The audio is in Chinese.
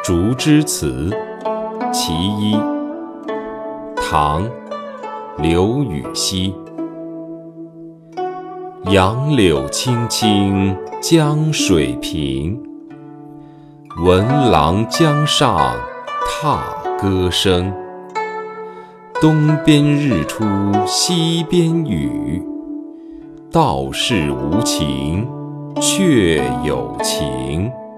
竹枝词其一，唐·刘禹锡。杨柳青青江水平，闻郎江上踏歌声。东边日出西边雨，道是无晴却有晴。